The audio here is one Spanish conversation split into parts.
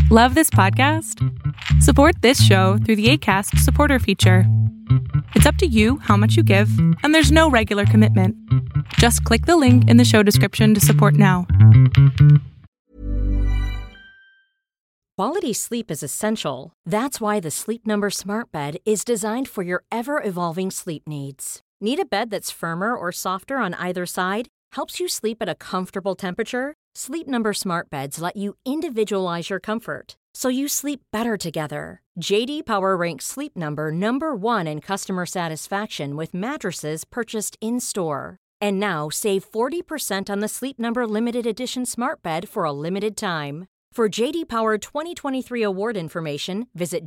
Love this podcast? Support this show through the Acast supporter feature. It's up to you how much you give, and there's no regular commitment. Just click the link in the show description to support now. Quality sleep is essential. That's why the Sleep Number Smart Bed is designed for your ever-evolving sleep needs. Need a bed that's firmer or softer on either side? Helps you sleep at a comfortable temperature? Sleep Number Smart Beds let you individualize your comfort, so you sleep better together. J.D. Power ranks Sleep Number number one in customer satisfaction with mattresses purchased in-store. And now, save 40% on the Sleep Number Limited Edition Smart Bed for a limited time. For J.D. Power 2023 award information, visit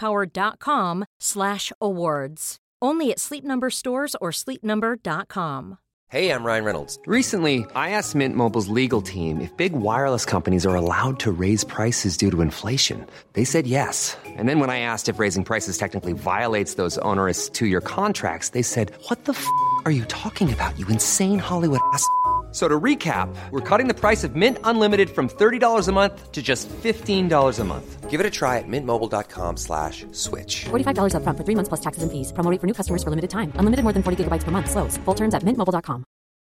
jdpower.com/awards. Only at Sleep Number stores or sleepnumber.com. Hey, I'm Ryan Reynolds. Recently, I asked Mint Mobile's legal team if big wireless companies are allowed to raise prices due to inflation. They said yes. And then when I asked if raising prices technically violates those onerous two-year contracts, they said, "What the f*** are you talking about, you insane Hollywood ass?" So to recap, we're cutting the price of Mint Unlimited from $30 a month to just $15 a month. Give it a try at mintmobile.com/switch. $45 up front for 3 months plus taxes and fees. Promo rate for new customers for limited time. Unlimited more than 40 gigabytes per month. Slows full terms at mintmobile.com.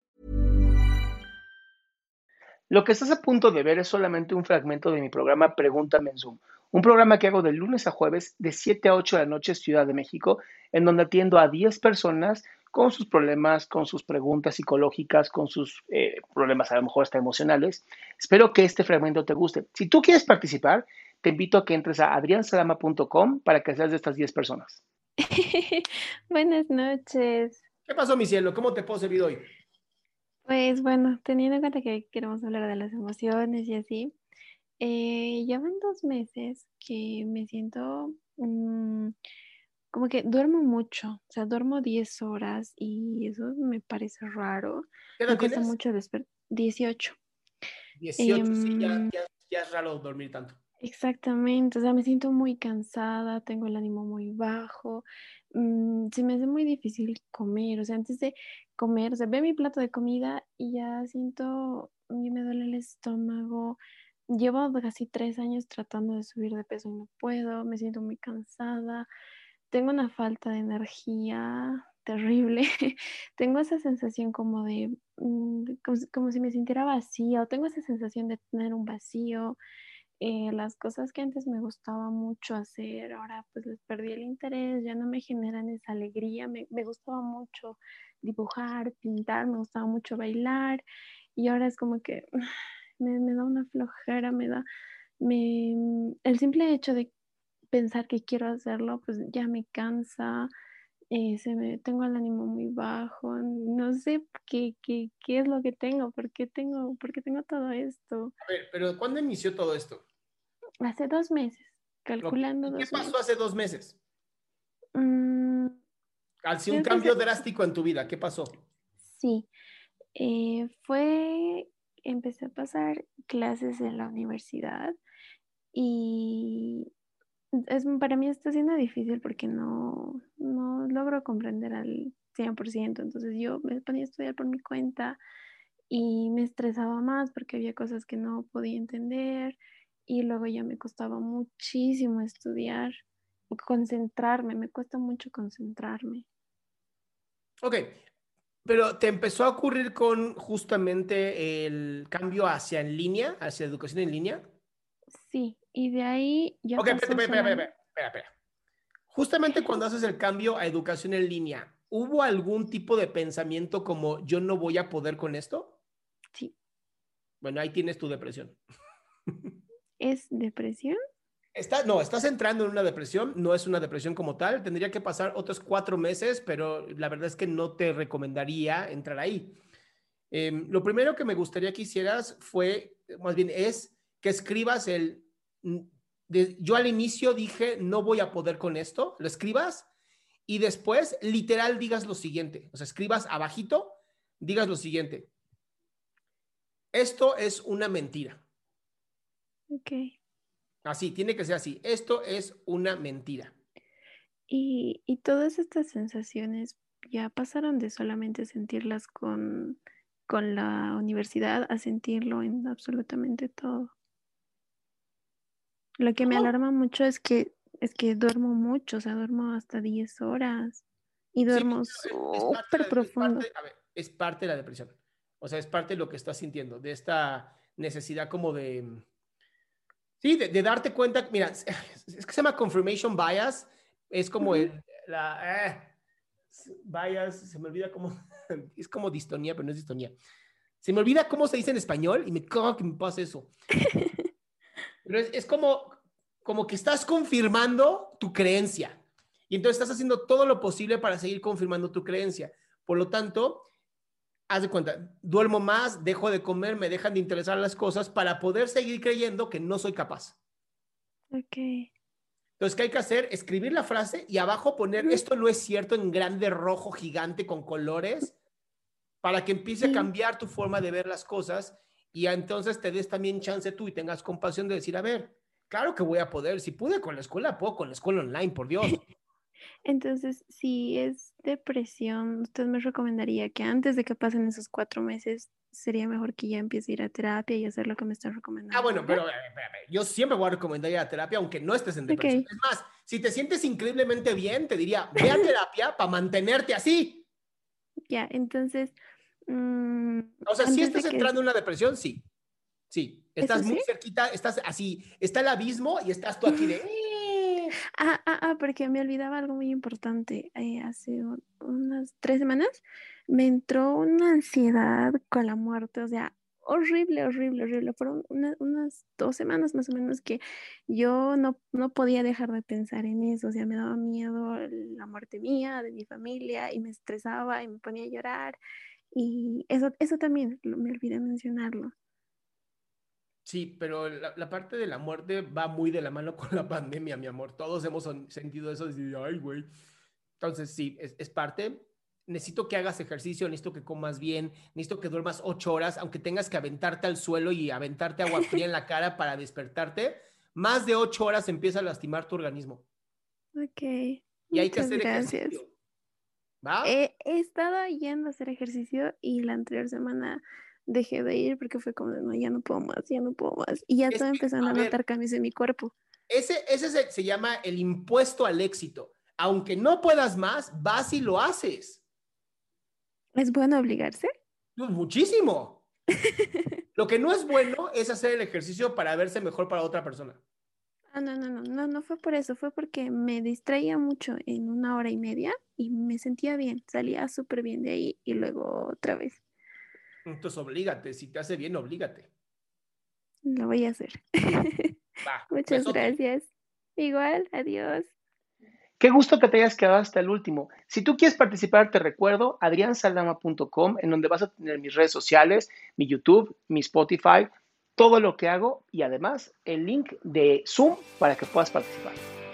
Lo que estás a punto de ver es solamente un fragmento de mi programa Pregúntame en Zoom, un programa que hago de lunes a jueves de 7 a 8 de la noche Ciudad de México, en donde atiendo a 10 personas con sus problemas, con sus preguntas psicológicas, con sus problemas a lo mejor hasta emocionales. Espero que este fragmento te guste. Si tú quieres participar, te invito a que entres a adriansalama.com para que seas de estas 10 personas. Buenas noches. ¿Qué pasó, mi cielo? ¿Cómo te puedo servir hoy? Pues bueno, teniendo en cuenta que queremos hablar de las emociones y así, llevan 2 meses que me siento como que duermo mucho, o sea, duermo 10 horas y eso me parece raro. ¿Qué edad Me cuesta tienes? mucho despertar. 18. 18, sí, ya es raro dormir tanto. Exactamente, o sea, me siento muy cansada, tengo el ánimo muy bajo, se me hace muy difícil comer, o sea, antes de comer, o sea, veo mi plato de comida y ya siento, me duele el estómago, llevo casi 3 años tratando de subir de peso y no puedo, me siento muy cansada, tengo una falta de energía terrible, tengo esa sensación como de, como si me sintiera vacía, o tengo esa sensación de tener un vacío. Las cosas que antes me gustaba mucho hacer, ahora pues les perdí el interés, ya no me generan esa alegría, me gustaba mucho dibujar, pintar, me gustaba mucho bailar y ahora es como que me da una flojera, el simple hecho de pensar que quiero hacerlo pues ya me cansa, tengo el ánimo muy bajo, no sé qué es lo que tengo, por qué tengo todo esto. A ver, pero ¿cuándo inició todo esto? Hace 2 meses, calculando ¿Y qué 2 pasó meses. hace 2 meses? Mm, Así un creo que cambio drástico en tu vida. ¿Qué pasó? sí, empecé a pasar clases en la universidad y para mí está siendo difícil porque no logro comprender al 100%. Entonces yo me ponía a estudiar por mi cuenta y me estresaba más porque había cosas que no podía entender y luego ya me costaba muchísimo estudiar, concentrarme, me cuesta mucho concentrarme. Ok, pero ¿te empezó a ocurrir con justamente el cambio hacia en línea, hacia educación en línea? Sí, y de ahí ya Ok, pasó solamente. espera. Justamente cuando haces el cambio a educación en línea, ¿hubo algún tipo de pensamiento como yo no voy a poder con esto? Sí. Bueno, ahí tienes tu depresión. ¿Es depresión? Estás entrando en una depresión, no es una depresión como tal, tendría que pasar otros 4 meses, pero la verdad es que no te recomendaría entrar ahí. Lo primero que me gustaría que hicieras es que escribas yo al inicio dije, no voy a poder con esto, lo escribas y después literal digas lo siguiente, o sea, escribas abajito, digas lo siguiente, esto es una mentira. Ok. Así, tiene que ser así, esto es una mentira. Y todas estas sensaciones ya pasaron de solamente sentirlas con la universidad a sentirlo en absolutamente todo. Lo que me ¿Cómo? alarma mucho es que duermo mucho, o sea, duermo hasta 10 horas y Sí, duermo es parte, súper profundo. a ver, es parte de la depresión. O sea, es parte de lo que estás sintiendo, de esta necesidad como de, sí, de darte cuenta. Mira, es que se llama confirmation bias. Es como Ujú. bias, se me olvida cómo, es como distonía, pero no es distonía. Se me olvida cómo se dice en español y me cago que me pasa eso. Pero es como que estás confirmando tu creencia. Y entonces estás haciendo todo lo posible para seguir confirmando tu creencia. Por lo tanto, haz de cuenta, duermo más, dejo de comer, me dejan de interesar las cosas para poder seguir creyendo que no soy capaz. Ok. Entonces, ¿qué hay que hacer? Escribir la frase y abajo poner Ujú. esto no es cierto en grande rojo gigante con colores para que empiece a Y cambiar tu forma de ver las cosas y entonces te des también chance tú y tengas compasión de decir, a ver, claro que voy a poder, si pude con la escuela, puedo con la escuela online, por Dios. entonces, si es depresión, ¿usted me recomendaría que antes de que pasen esos 4 meses sería mejor que ya empiece a ir a terapia y hacer lo que me está Ah, recomendando bueno, ahora? pero espérame, yo siempre voy a recomendar ir a terapia aunque no estés en depresión. Ok. Es más, si te sientes increíblemente bien, te diría, ve a terapia para mantenerte así. Ya, entonces, mm, O sea, si antes estás de que, entrando en una depresión, sí, sí, eso estás muy sí. cerquita, estás así, está el abismo y estás tú aquí de... Porque me olvidaba algo muy importante. Hace unas 3 semanas me entró una ansiedad con la muerte, o sea, horrible, horrible, horrible. Fueron unas 2 semanas más o menos que yo no podía dejar de pensar en eso, o sea, me daba miedo la muerte mía, de mi familia, y me estresaba y me ponía a llorar. Y eso también me olvidé mencionarlo. Sí, pero la parte de la muerte va muy de la mano con la pandemia, mi amor. Todos hemos sentido eso, de decir, ay, güey. Entonces, sí, es parte. Necesito que hagas ejercicio, necesito que comas bien, necesito que duermas 8 horas, aunque tengas que aventarte al suelo y aventarte agua fría en la cara para despertarte. Más de 8 horas empieza a lastimar tu organismo Ok, y hay que muchas hacer gracias. ejercicio, ¿va? He estado yendo a hacer ejercicio y la anterior semana dejé de ir porque fue como, de, no, ya no puedo más, ya no puedo más. Y ya Es estaba que, empezando a a ver, notar cambios en mi cuerpo. ese se llama el impuesto al éxito. Aunque no puedas más, vas y lo haces. ¿Es bueno obligarse? Pues muchísimo. Lo que no es bueno es hacer el ejercicio para verse mejor para otra persona. No fue por eso, fue porque me distraía mucho en 1 hora y media y me sentía bien, salía súper bien de ahí y luego otra vez. Entonces, oblígate. Si te hace bien, oblígate. Lo voy a hacer. Va, Muchas besote. gracias. Igual, adiós. Qué gusto que te hayas quedado hasta el último. Si tú quieres participar, te recuerdo adriansaldama.com, en donde vas a tener mis redes sociales, mi YouTube, mi Spotify, todo lo que hago y además el link de Zoom para que puedas participar.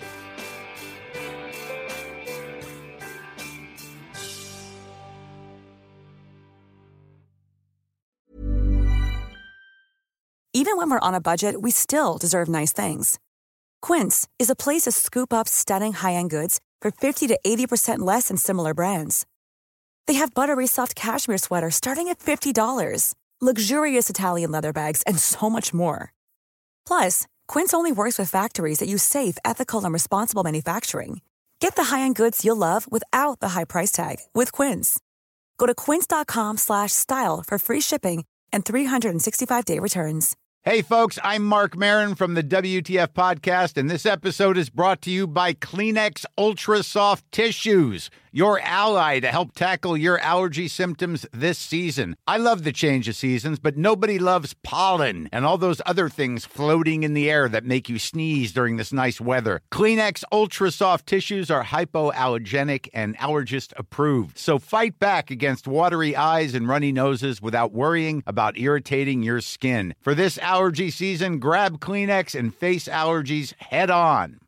Even when we're on a budget, we still deserve nice things. Quince is a place to scoop up stunning high-end goods for 50 to 80% less than similar brands. They have buttery soft cashmere sweaters starting at $50, luxurious Italian leather bags, and so much more. Plus, Quince only works with factories that use safe, ethical, and responsible manufacturing. Get the high-end goods you'll love without the high price tag with Quince. Go to quince.com/style for free shipping and 365-day returns. Hey, folks, I'm Mark Marin from the WTF Podcast, and this episode is brought to you by Kleenex Ultra Soft Tissues, your ally to help tackle your allergy symptoms this season. I love the change of seasons, but nobody loves pollen and all those other things floating in the air that make you sneeze during this nice weather. Kleenex Ultra Soft Tissues are hypoallergenic and allergist approved, so fight back against watery eyes and runny noses without worrying about irritating your skin. For this allergy season, grab Kleenex and face allergies head on.